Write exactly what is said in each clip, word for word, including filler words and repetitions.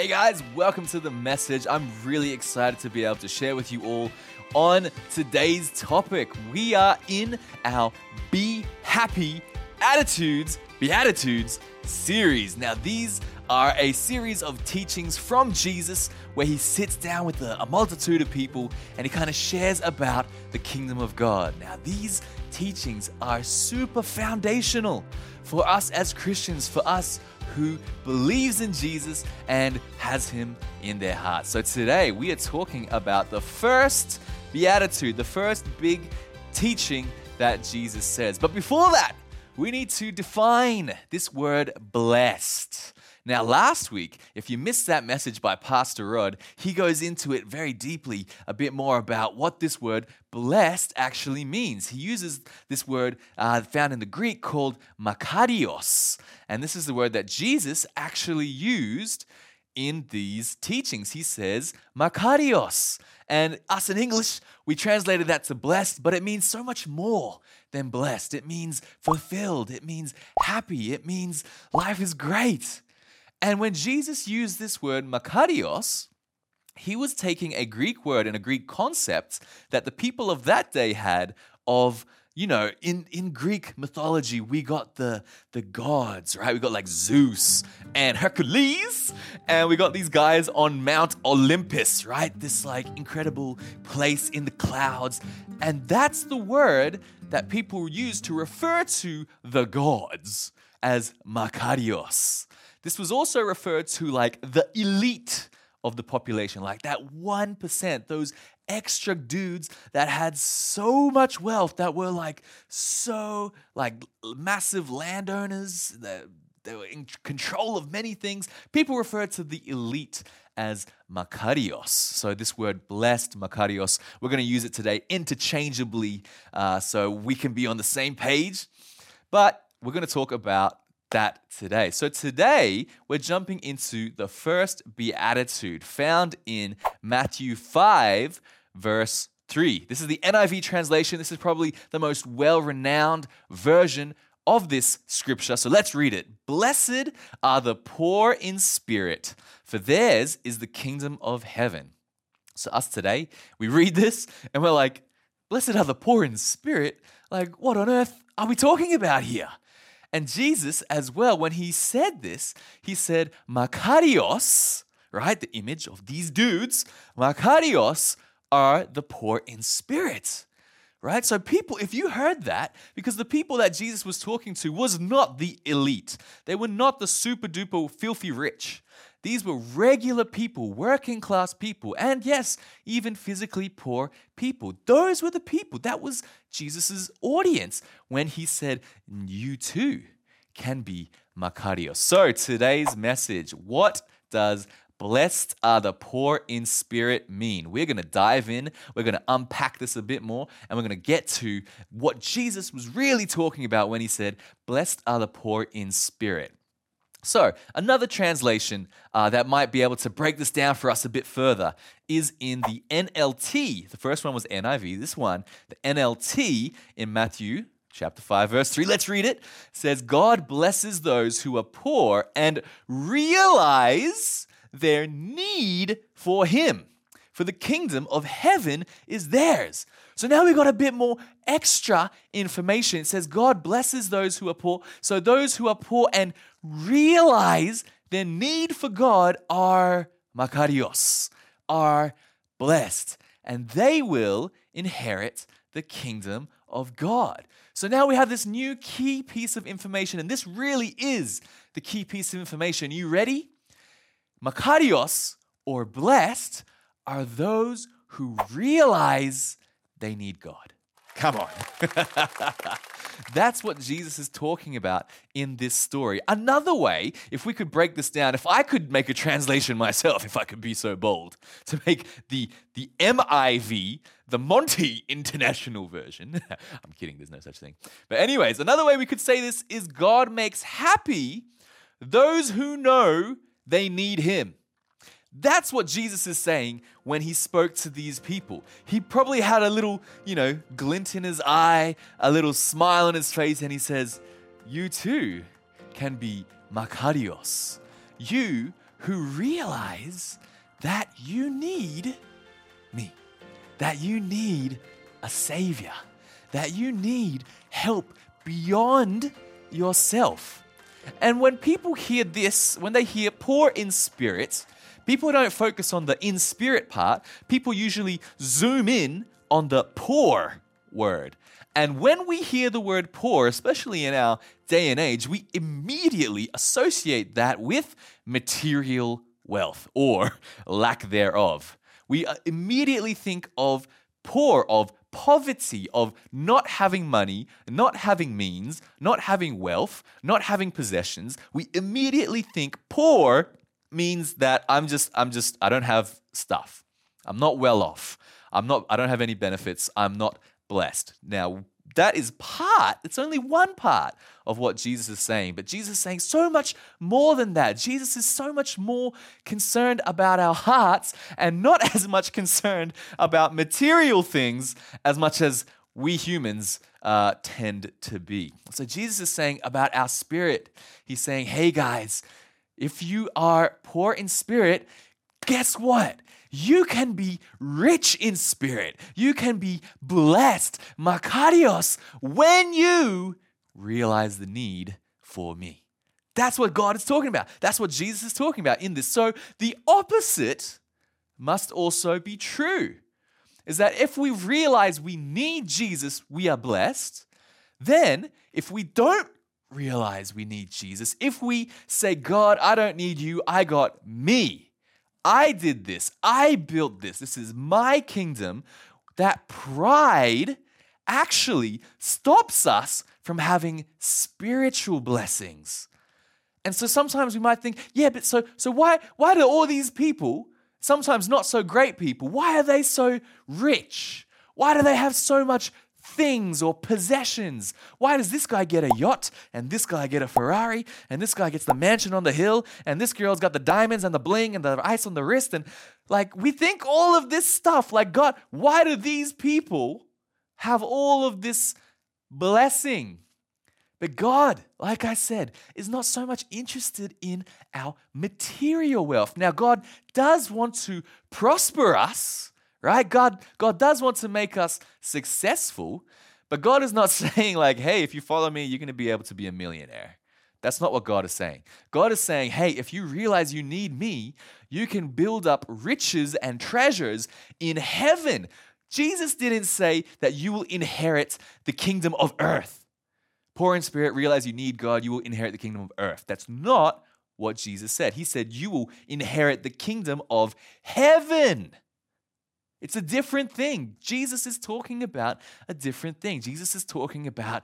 guys, welcome to the message. I'm really excited to be able to share with you all on today's topic. We are in our Be Happy Attitudes, Beatitudes series. Now, these are a series of teachings from Jesus where he sits down with a, a multitude of people and he kind of shares about the kingdom of God. Now, these teachings are super foundational for us as Christians, for us who believes in Jesus and has him in their heart. So today we are talking about the first beatitude, the first big teaching that Jesus says. But before that, we need to define this word blessed. Now, last week, if you missed that message by Pastor Rod, he goes into it very deeply, a bit more about what this word blessed actually means. He uses this word uh, found in the Greek called makarios. And this is the word that Jesus actually used in these teachings. He says makarios. And us in English, we translated that to blessed, but it means so much more than blessed. It means fulfilled. It means happy. It means life is great. And when Jesus used this word makarios, he was taking a Greek word and a Greek concept that the people of that day had of, you know, in, in Greek mythology, we got the, the gods, right? We got like Zeus and Hercules, and we got these guys on Mount Olympus, right? This like incredible place in the clouds. And that's the word that people use to refer to the gods as makarios. This was also referred to like the elite of the population, like that one percent, those extra dudes that had so much wealth, that were like so like massive landowners, that they were in control of many things. People refer to the elite as makarios. So this word blessed, makarios, we're going to use it today interchangeably uh, so we can be on the same page. But we're going to talk about that today. So today, we're jumping into the first beatitude found in Matthew five, verse three. This is the N I V translation. This is probably the most well-renowned version of this scripture. So let's read it. Blessed are the poor in spirit, for theirs is the kingdom of heaven. So us today, we read this and we're like, blessed are the poor in spirit? Like, what on earth are we talking about here? And Jesus as well, when he said this, he said, makarios, right? The image of these dudes, makarios are the poor in spirit, right? So people, if you heard that, because the people that Jesus was talking to was not the elite. They were not the super duper filthy rich. These were regular people, working class people, and yes, even physically poor people. Those were the people. That was Jesus' audience when he said, you too can be makarios. So today's message, what does blessed are the poor in spirit mean? We're going to dive in, we're going to unpack this a bit more, and we're going to get to what Jesus was really talking about when he said, blessed are the poor in spirit. So, another translation uh, that might be able to break this down for us a bit further is in the N L T. The first one was N I V. This one, the N L T in Matthew chapter five, verse three. Let's read it. It says, God blesses those who are poor and realize their need for him, for the kingdom of heaven is theirs. So now we've got a bit more extra information. It says God blesses those who are poor. So those who are poor and realize their need for God are makarios, are blessed, and they will inherit the kingdom of God. So now we have this new key piece of information, and this really is the key piece of information. You ready? Makarios, or blessed, are those who realize they need God. Come on. That's what Jesus is talking about in this story. Another way, if we could break this down, if I could make a translation myself, if I could be so bold, to make the, the M I V, the Monty International Version. I'm kidding, there's no such thing. But anyways, another way we could say this is God makes happy those who know they need him. That's what Jesus is saying when he spoke to these people. He probably had a little, you know, glint in his eye, a little smile on his face, and he says, you too can be makarios. You who realize that you need me, that you need a savior, that you need help beyond yourself. And when people hear this, when they hear poor in spirit, people don't focus on the in spirit part. People usually zoom in on the poor word. And when we hear the word poor, especially in our day and age, we immediately associate that with material wealth or lack thereof. We immediately think of poor, of poverty, of not having money, not having means, not having wealth, not having possessions. We immediately think poor means that I'm just, I'm just, I don't have stuff. I'm not well off. I'm not, I don't have any benefits. I'm not blessed. Now, that is part, it's only one part of what Jesus is saying, but Jesus is saying so much more than that. Jesus is so much more concerned about our hearts and not as much concerned about material things as much as we humans uh, tend to be. So Jesus is saying about our spirit, he's saying, hey guys, if you are poor in spirit, guess what? You can be rich in spirit. You can be blessed, makarios, when you realize the need for me. That's what God is talking about. That's what Jesus is talking about in this. So the opposite must also be true, is that if we realize we need Jesus, we are blessed. Then if we don't realize we need Jesus, if we say, God, I don't need you, I got me. I did this. I built this. This is my kingdom. That pride actually stops us from having spiritual blessings. And so sometimes we might think, yeah, but so so why why do all these people, sometimes not so great people, why are they so rich? Why do they have so much things or possessions? Why does this guy get a yacht and this guy get a Ferrari and this guy gets the mansion on the hill and this girl's got the diamonds and the bling and the ice on the wrist? And like we think all of this stuff, like God, why do these people have all of this blessing? But God, like I said, is not so much interested in our material wealth. Now, God does want to prosper us, right? God, God does want to make us successful, but God is not saying like, hey, if you follow me, you're going to be able to be a millionaire. That's not what God is saying. God is saying, hey, if you realize you need me, you can build up riches and treasures in heaven. Jesus didn't say that you will inherit the kingdom of earth. Poor in spirit, realize you need God, you will inherit the kingdom of earth. That's not what Jesus said. He said you will inherit the kingdom of heaven. It's a different thing. Jesus is talking about a different thing. Jesus is talking about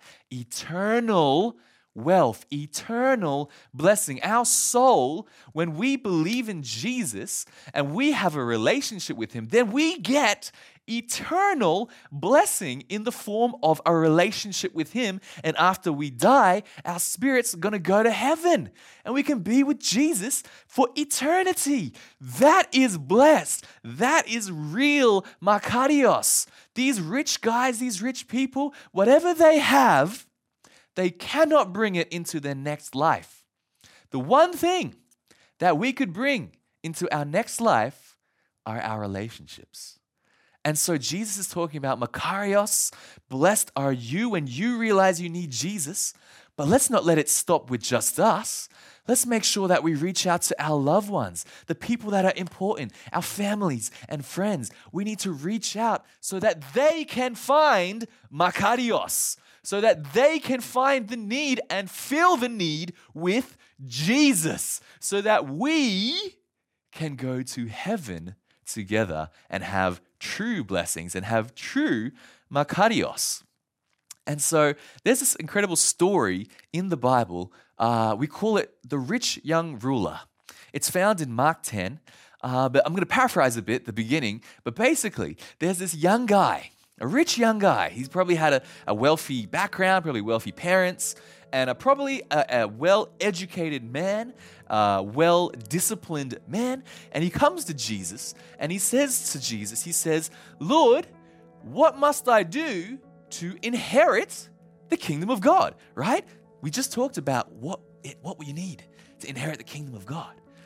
eternal wealth, eternal blessing. Our soul, when we believe in Jesus and we have a relationship with him, then we get eternal blessing in the form of a relationship with him. And after we die, our spirit's going to go to heaven and we can be with Jesus for eternity. That is blessed. That is real makarios. These rich guys, these rich people, whatever they have, they cannot bring it into their next life. The one thing that we could bring into our next life are our relationships. And so Jesus is talking about makarios, blessed are you when you realize you need Jesus. But let's not let it stop with just us. Let's make sure that we reach out to our loved ones, the people that are important, our families and friends. We need to reach out so that they can find makarios, so that they can find the need and fill the need with Jesus, so that we can go to heaven together and have true blessings and have true makarios. And so there's this incredible story in the Bible. Uh, we call it the rich young ruler. It's found in Mark ten, uh, but I'm going to paraphrase a bit, the beginning. But basically, there's this young guy, a rich young guy. He's probably had a, a wealthy background, probably wealthy parents, and a, probably a, a well-educated man, uh, well-disciplined man. And he comes to Jesus, and he says to Jesus, he says, Lord, what must I do to inherit the kingdom of God, right? We just talked about what it, what we need to inherit the kingdom of God.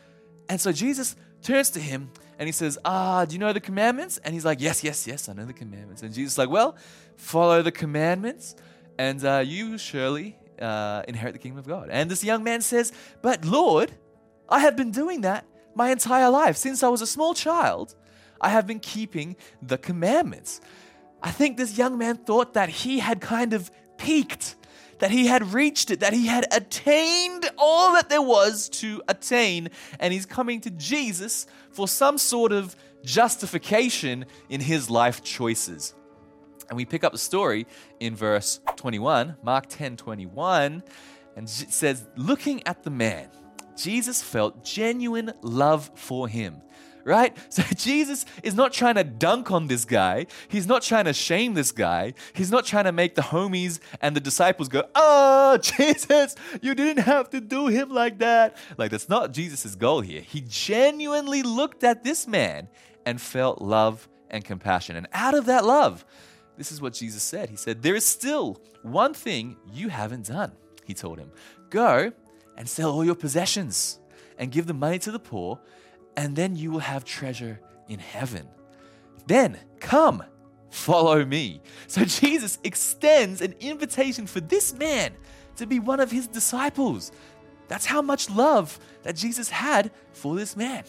And so Jesus turns to him and he says, ah, do you know the commandments? And he's like, yes, yes, yes, I know the commandments. And Jesus is like, well, follow the commandments and uh, you surely uh, inherit the kingdom of God. And this young man says, but Lord, I have been doing that my entire life. Since I was a small child, I have been keeping the commandments. I think this young man thought that he had kind of peaked, that he had reached it, that he had attained all that there was to attain, and he's coming to Jesus for some sort of justification in his life choices. And we pick up the story in verse twenty-one, Mark ten twenty-one, and it says, looking at the man, Jesus felt genuine love for him. Right? So Jesus is not trying to dunk on this guy. He's not trying to shame this guy. He's not trying to make the homies and the disciples go, oh, Jesus, you didn't have to do him like that. Like, that's not Jesus' goal here. He genuinely looked at this man and felt love and compassion. And out of that love, this is what Jesus said. He said, there is still one thing you haven't done, he told him. Go and sell all your possessions and give the money to the poor, and then you will have treasure in heaven. Then come, follow me. So Jesus extends an invitation for this man to be one of his disciples. That's how much love that Jesus had for this man.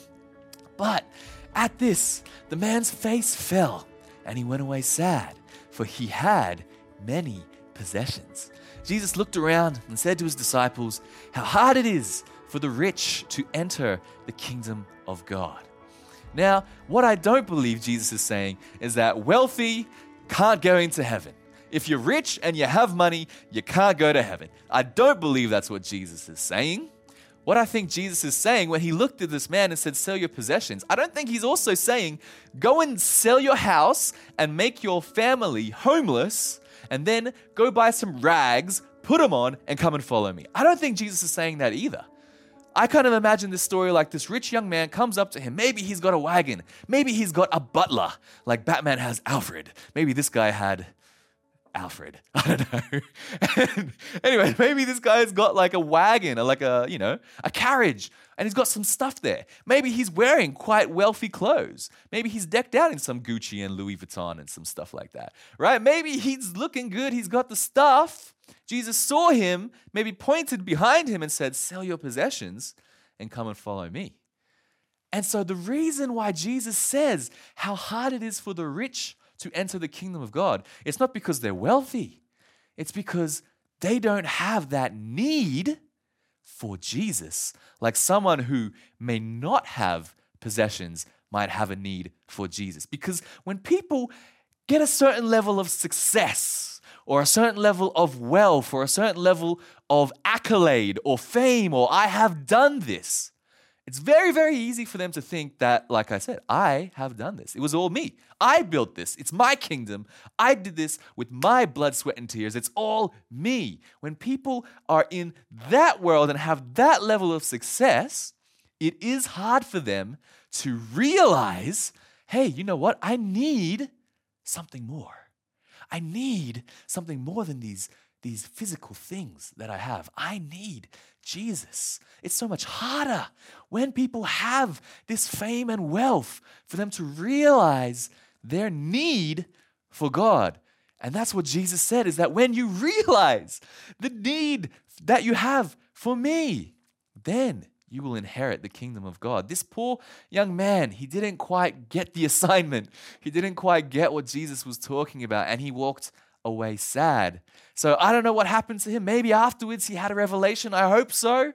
But at this, the man's face fell, and he went away sad, for he had many possessions. Jesus looked around and said to his disciples, how hard it is for the rich to enter the kingdom of God. Now, what I don't believe Jesus is saying is that wealthy can't go into heaven. If you're rich and you have money, you can't go to heaven. I don't believe that's what Jesus is saying. What I think Jesus is saying when he looked at this man and said, sell your possessions, I don't think he's also saying, go and sell your house and make your family homeless, and then go buy some rags, put them on, and come and follow me. I don't think Jesus is saying that either. I kind of imagine this story like this rich young man comes up to him. Maybe he's got a wagon. Maybe he's got a butler, like Batman has Alfred. Maybe this guy had Alfred. I don't know. Anyway, maybe this guy's got like a wagon or like a, you know, a carriage, and he's got some stuff there. Maybe he's wearing quite wealthy clothes. Maybe he's decked out in some Gucci and Louis Vuitton and some stuff like that, right? Maybe he's looking good. He's got the stuff. Jesus saw him, maybe pointed behind him and said, sell your possessions and come and follow me. And so the reason why Jesus says how hard it is for the rich to enter the kingdom of God, it's not because they're wealthy. It's because they don't have that need for Jesus, like someone who may not have possessions might have a need for Jesus. Because when people get a certain level of success, or a certain level of wealth, or a certain level of accolade or fame, or I have done this, it's very, very easy for them to think that, like I said, I have done this. It was all me. I built this. It's my kingdom. I did this with my blood, sweat, and tears. It's all me. When people are in that world and have that level of success, it is hard for them to realize, hey, you know what? I need something more. I need something more than these, these physical things that I have. I need Jesus. It's so much harder when people have this fame and wealth for them to realize their need for God. And that's what Jesus said, is that when you realize the need that you have for me, then you will inherit the kingdom of God. This poor young man, he didn't quite get the assignment. He didn't quite get what Jesus was talking about, and he walked away sad. So I don't know what happened to him. Maybe afterwards he had a revelation. I hope so.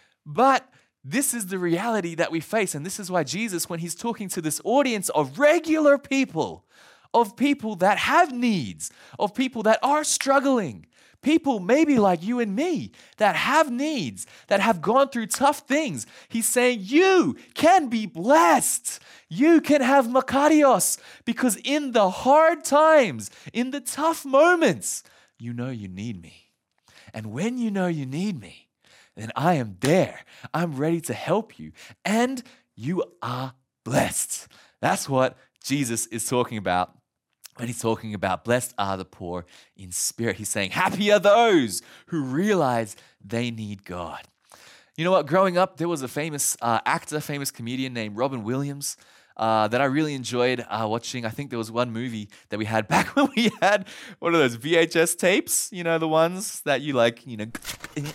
But this is the reality that we face, and this is why Jesus, when he's talking to this audience of regular people, of people that have needs, of people that are struggling, people maybe like you and me that have needs, that have gone through tough things. He's saying you can be blessed. You can have makarios, because in the hard times, in the tough moments, you know you need me. And when you know you need me, then I am there. I'm ready to help you. And you are blessed. That's what Jesus is talking about when he's talking about blessed are the poor in spirit. He's saying happy are those who realize they need God. You know what? Growing up, there was a famous uh, actor, famous comedian named Robin Williams uh, that I really enjoyed uh, watching. I think there was one movie that we had back when we had one of those V H S tapes, you know, the ones that you like, you know, and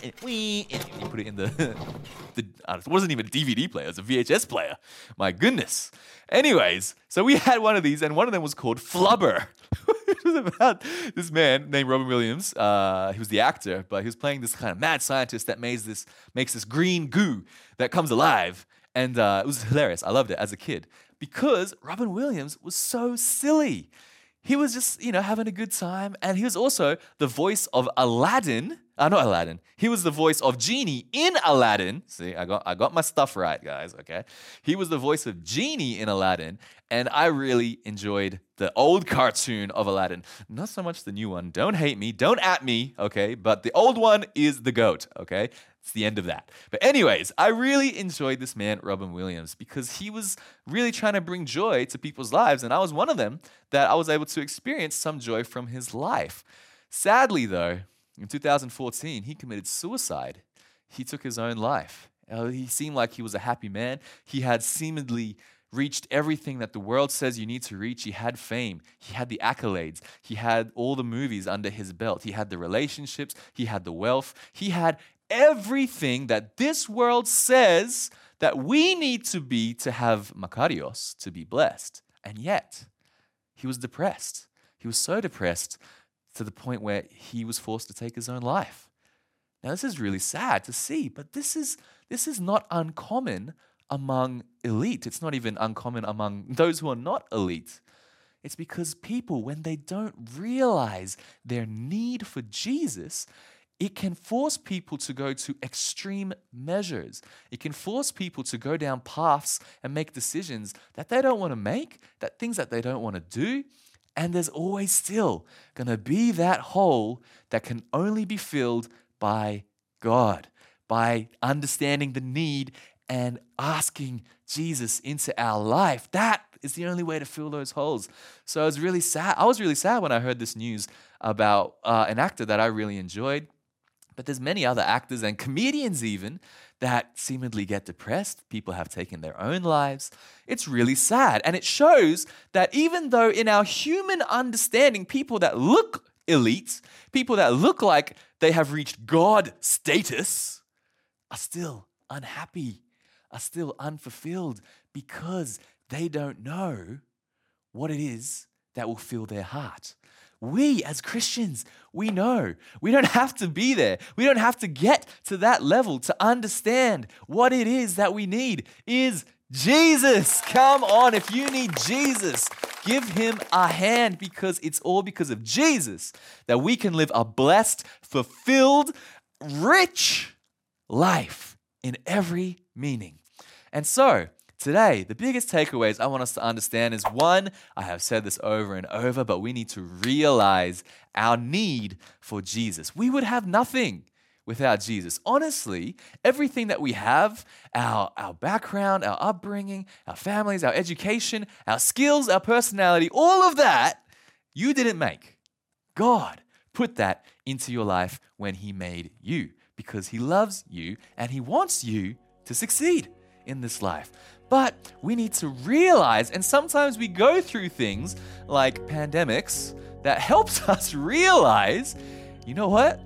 you put it in the, the uh, it wasn't even a D V D player, it was a V H S player. My goodness. Anyways, so we had one of these, and one of them was called Flubber. It was about this man named Robin Williams. Uh, he was the actor, but he was playing this kind of mad scientist that makes this makes this green goo that comes alive. And uh, it was hilarious. I loved it as a kid because Robin Williams was so silly. He was just, you know, having a good time. And he was also the voice of Aladdin. Uh, not Aladdin. He was the voice of Genie in Aladdin. See, I got I got my stuff right, guys, okay? He was the voice of Genie in Aladdin. And I really enjoyed the old cartoon of Aladdin. Not so much the new one. Don't hate me. Don't at me, okay? But the old one is the GOAT, okay? It's the end of that. But anyways, I really enjoyed this man, Robin Williams, because he was really trying to bring joy to people's lives. And I was one of them that I was able to experience some joy from his life. Sadly, though, in two thousand fourteen, he committed suicide. He took his own life. Uh, he seemed like he was a happy man. He had seemingly reached everything that the world says you need to reach. He had fame. He had the accolades. He had all the movies under his belt. He had the relationships. He had the wealth. He had everything that this world says that we need to be to have makarios, to be blessed. And yet, he was depressed. He was so depressed to the point where he was forced to take his own life. Now, this is really sad to see, but this is this is not uncommon among elite. It's not even uncommon among those who are not elite. It's because people, when they don't realize their need for Jesus, it can force people to go to extreme measures. It can force people to go down paths and make decisions that they don't want to make, that things that they don't want to do. And there's always still going to be that hole that can only be filled by God, by understanding the need and asking Jesus into our life. That is the only way to fill those holes. So I was really sad. I was really sad when I heard this news about uh, an actor that I really enjoyed. But there's many other actors and comedians even that seemingly get depressed. People have taken their own lives. It's really sad. And it shows that even though in our human understanding, people that look elite, people that look like they have reached God status, are still unhappy, are still unfulfilled because they don't know what it is that will fill their heart. We as Christians, we know. We don't have to be there. We don't have to get to that level to understand what it is that we need is Jesus. Come on, if you need Jesus, give him a hand because it's all because of Jesus that we can live a blessed, fulfilled, rich life in every meaning. And so, today, the biggest takeaways I want us to understand is one, I have said this over and over, but we need to realize our need for Jesus. We would have nothing without Jesus. Honestly, everything that we have, our, our background, our upbringing, our families, our education, our skills, our personality, all of that, you didn't make. God put that into your life when he made you because he loves you and he wants you to succeed in this life. But we need to realize, and sometimes we go through things like pandemics that helps us realize, you know what?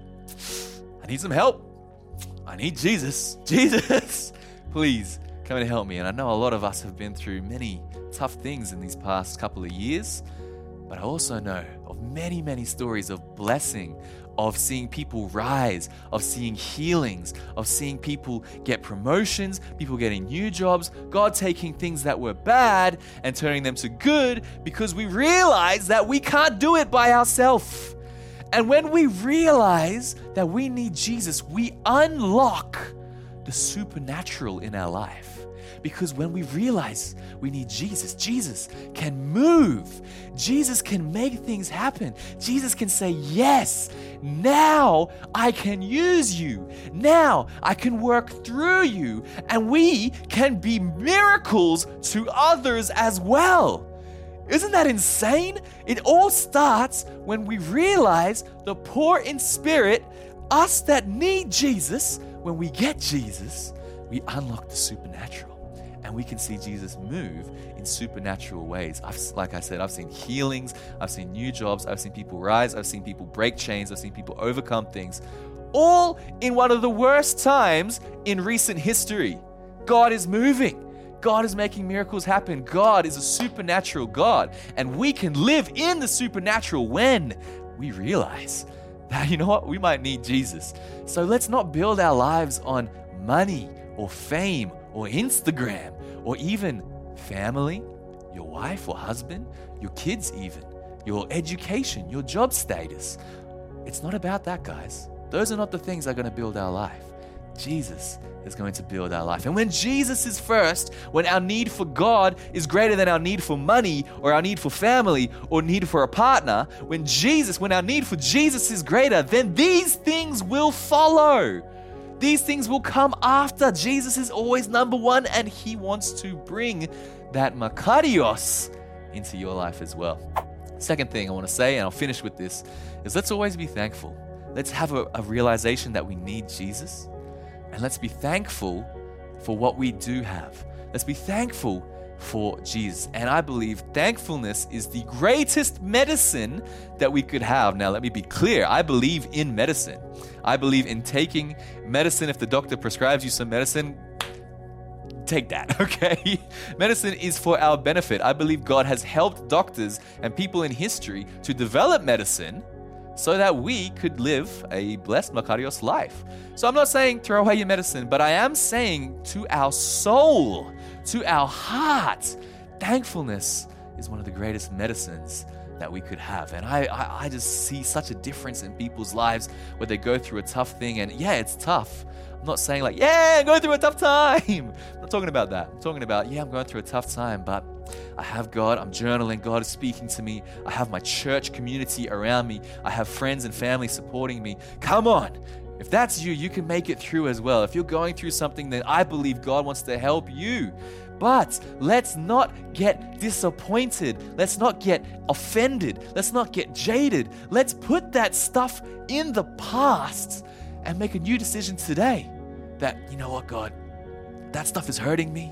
I need some help. I need Jesus. Jesus, please come and help me. And I know a lot of us have been through many tough things in these past couple of years, but I also know of many, many stories of blessing, of seeing people rise, of seeing healings, of seeing people get promotions, people getting new jobs, God taking things that were bad and turning them to good because we realize that we can't do it by ourselves. And when we realize that we need Jesus, we unlock the supernatural in our life. Because when we realize we need Jesus, Jesus can move. Jesus can make things happen. Jesus can say, yes, now I can use you. Now I can work through you. And we can be miracles to others as well. Isn't that insane? It all starts when we realize the poor in spirit us that need Jesus, when we get Jesus, we unlock the supernatural. And we can see Jesus move in supernatural ways. I've, like I said, I've seen healings, I've seen new jobs, I've seen people rise, I've seen people break chains, I've seen people overcome things, all in one of the worst times in recent history. God is moving. God is making miracles happen. God is a supernatural God. And we can live in the supernatural when we realize that, you know what, we might need Jesus. So let's not build our lives on money or fame or Instagram, or even family, your wife or husband, your kids even, your education, your job status. It's not about that, guys. Those are not the things that are going to build our life. Jesus is going to build our life. And when Jesus is first, when our need for God is greater than our need for money or our need for family or need for a partner, when Jesus, when our need for Jesus is greater, then these things will follow. These things will come after. Jesus is always number one, and he wants to bring that Makarios into your life as well. Second thing I want to say, and I'll finish with this, is let's always be thankful. Let's have a, a realization that we need Jesus, and let's be thankful for what we do have. Let's be thankful for Jesus. And I believe thankfulness is the greatest medicine that we could have. Now, let me be clear. I believe in medicine. I believe in taking medicine. If the doctor prescribes you some medicine, take that, okay? Medicine is for our benefit. I believe God has helped doctors and people in history to develop medicine so that we could live a blessed Makarios life. So I'm not saying throw away your medicine, but I am saying to our soul, to our heart, thankfulness is one of the greatest medicines that we could have. And I, I, I just see such a difference in people's lives where they go through a tough thing. And yeah, it's tough. I'm not saying like, yeah, I'm going through a tough time. I'm not talking about that. I'm talking about, yeah, I'm going through a tough time, but I have God. I'm journaling. God is speaking to me. I have my church community around me. I have friends and family supporting me. Come on. If that's you, you can make it through as well. If you're going through something, then I believe God wants to help you. But let's not get disappointed. Let's not get offended. Let's not get jaded. Let's put that stuff in the past and make a new decision today that, you know what, God, that stuff is hurting me.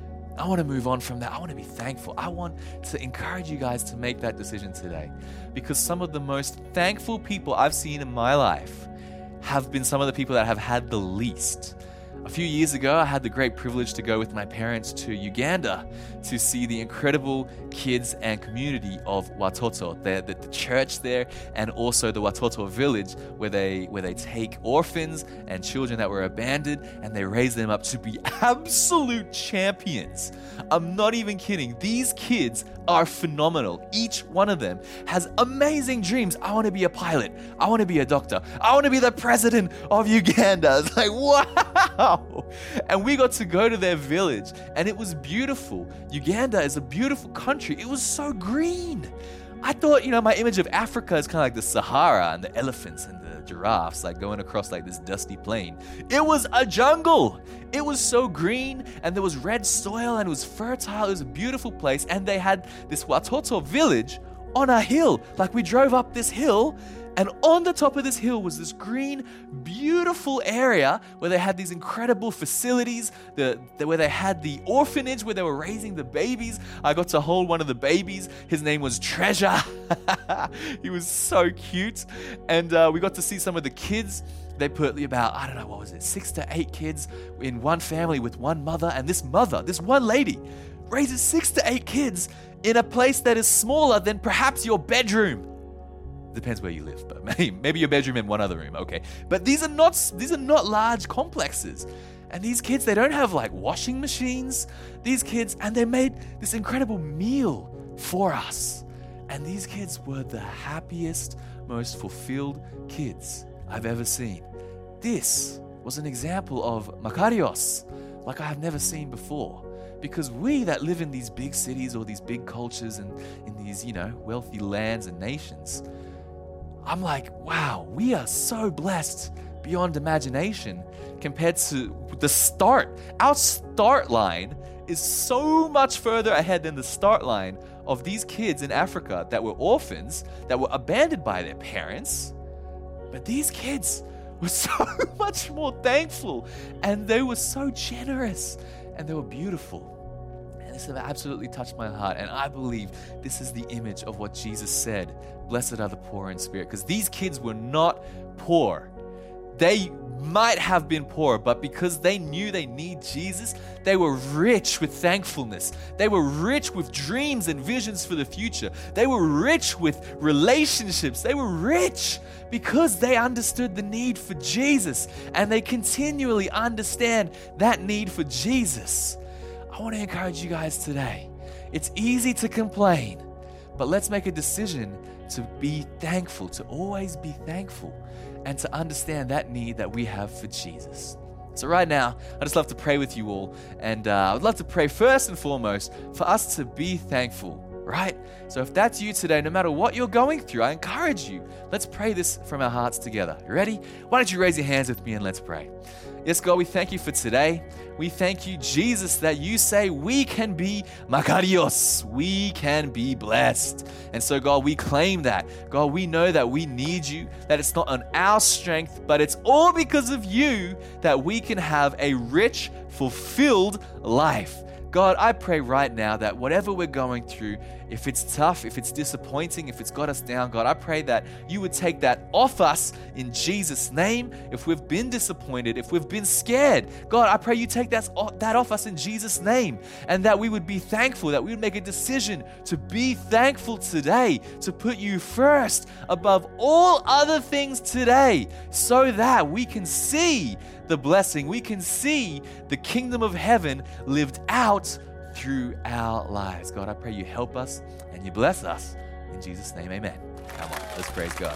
I want to move on from that. I want to be thankful. I want to encourage you guys to make that decision today, because some of the most thankful people I've seen in my life have been some of the people that have had the least. A few years ago, I had the great privilege to go with my parents to Uganda to see the incredible kids and community of Watoto, the, the, the church there, and also the Watoto village where they where they take orphans and children that were abandoned and they raise them up to be absolute champions. I'm not even kidding. These kids are phenomenal. Each one of them has amazing dreams. I want to be a pilot. I want to be a doctor. I want to be the president of Uganda. It's like, wow. And we got to go to their village and it was beautiful. Uganda is a beautiful country. It was so green. I thought, you know, my image of Africa is kind of like the Sahara and the elephants and the giraffes, like going across like this dusty plain. It was a jungle. It was so green and there was red soil and it was fertile. It was a beautiful place. And they had this Watoto village on a hill. Like we drove up this hill, and on the top of this hill was this green, beautiful area where they had these incredible facilities, the, the, where they had the orphanage where they were raising the babies. I got to hold one of the babies. His name was Treasure. He was so cute. And uh, we got to see some of the kids. They put about, I don't know, what was it, six to eight kids in one family with one mother. And this mother, this one lady, raises six to eight kids in a place that is smaller than perhaps your bedroom. Depends where you live, but maybe, maybe your bedroom and one other room, okay. But these are not these are not large complexes. And these kids, they don't have like washing machines. These kids, and they made this incredible meal for us. And these kids were the happiest, most fulfilled kids I've ever seen. This was an example of Makarios like I have never seen before. Because we that live in these big cities or these big cultures and in these, you know, wealthy lands and nations, I'm like, wow, we are so blessed beyond imagination compared to the start. Our start line is so much further ahead than the start line of these kids in Africa that were orphans, that were abandoned by their parents. But these kids were so much more thankful, and they were so generous, and they were beautiful. And this has absolutely touched my heart, and I believe this is the image of what Jesus said, blessed are the poor in spirit, because these kids were not poor. They might have been poor, but because they knew they need Jesus, they were rich with thankfulness. They were rich with dreams and visions for the future. They were rich with relationships. They were rich because they understood the need for Jesus, and they continually understand that need for Jesus. I want to encourage you guys today. It's easy to complain, but let's make a decision to be thankful, to always be thankful, and to understand that need that we have for Jesus. So right now, I just love to pray with you all, and uh, I would love to pray first and foremost for us to be thankful, right? So if that's you today, no matter what you're going through, I encourage you, let's pray this from our hearts together. You ready? Why don't you raise your hands with me and let's pray. Yes, God, we thank you for today. We thank you, Jesus, that you say we can be makarios. We can be blessed. And so, God, we claim that. God, we know that we need you, that it's not on our strength, but it's all because of you that we can have a rich, fulfilled life. God, I pray right now that whatever we're going through, if it's tough, if it's disappointing, if it's got us down, God, I pray that you would take that off us in Jesus' name. If we've been disappointed, if we've been scared, God, I pray you take that, that off us in Jesus' name, and that we would be thankful, that we would make a decision to be thankful today, to put you first above all other things today, so that we can see the blessing, we can see the kingdom of heaven lived out through our lives. God, I pray you help us and you bless us. In Jesus' name, amen. Come on, let's praise God.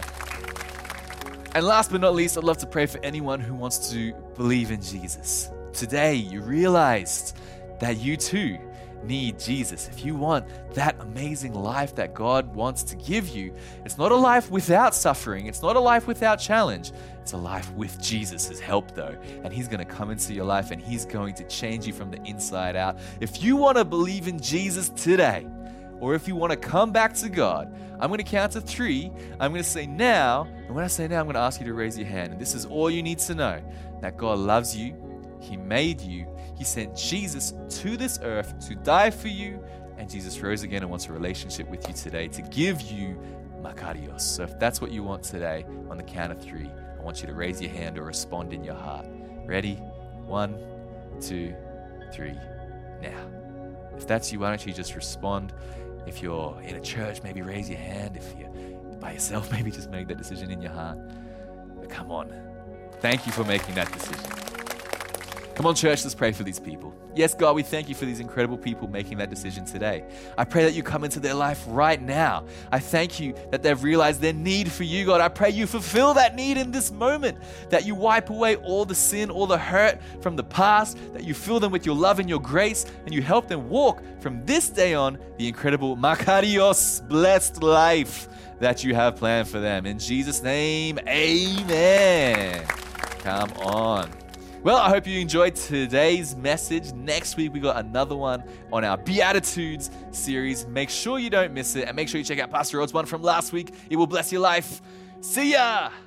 And last but not least, I'd love to pray for anyone who wants to believe in Jesus. Today, you realized that you too need Jesus. If you want that amazing life that God wants to give you, it's not a life without suffering. It's not a life without challenge. It's a life with Jesus' help though. And he's going to come into your life and he's going to change you from the inside out. If you want to believe in Jesus today, or if you want to come back to God, I'm going to count to three. I'm going to say now. And when I say now, I'm going to ask you to raise your hand. And this is all you need to know, that God loves you. He made you. He sent Jesus to this earth to die for you, and Jesus rose again and wants a relationship with you today to give you makarios. So if that's what you want today, on the count of three, I want you to raise your hand or respond in your heart. Ready? One, two, three, now. If that's you, why don't you just respond? If you're in a church, maybe raise your hand. If you're by yourself, maybe just make that decision in your heart. But come on. Thank you for making that decision. Come on, church, let's pray for these people. Yes, God, we thank you for these incredible people making that decision today. I pray that you come into their life right now. I thank you that they've realized their need for you, God. I pray you fulfill that need in this moment, that you wipe away all the sin, all the hurt from the past, that you fill them with your love and your grace, and you help them walk from this day on the incredible makarios, blessed life that you have planned for them. In Jesus' name, amen. Come on. Well, I hope you enjoyed today's message. Next week, we got another one on our Beatitudes series. Make sure you don't miss it, and make sure you check out Pastor Rod's one from last week. It will bless your life. See ya!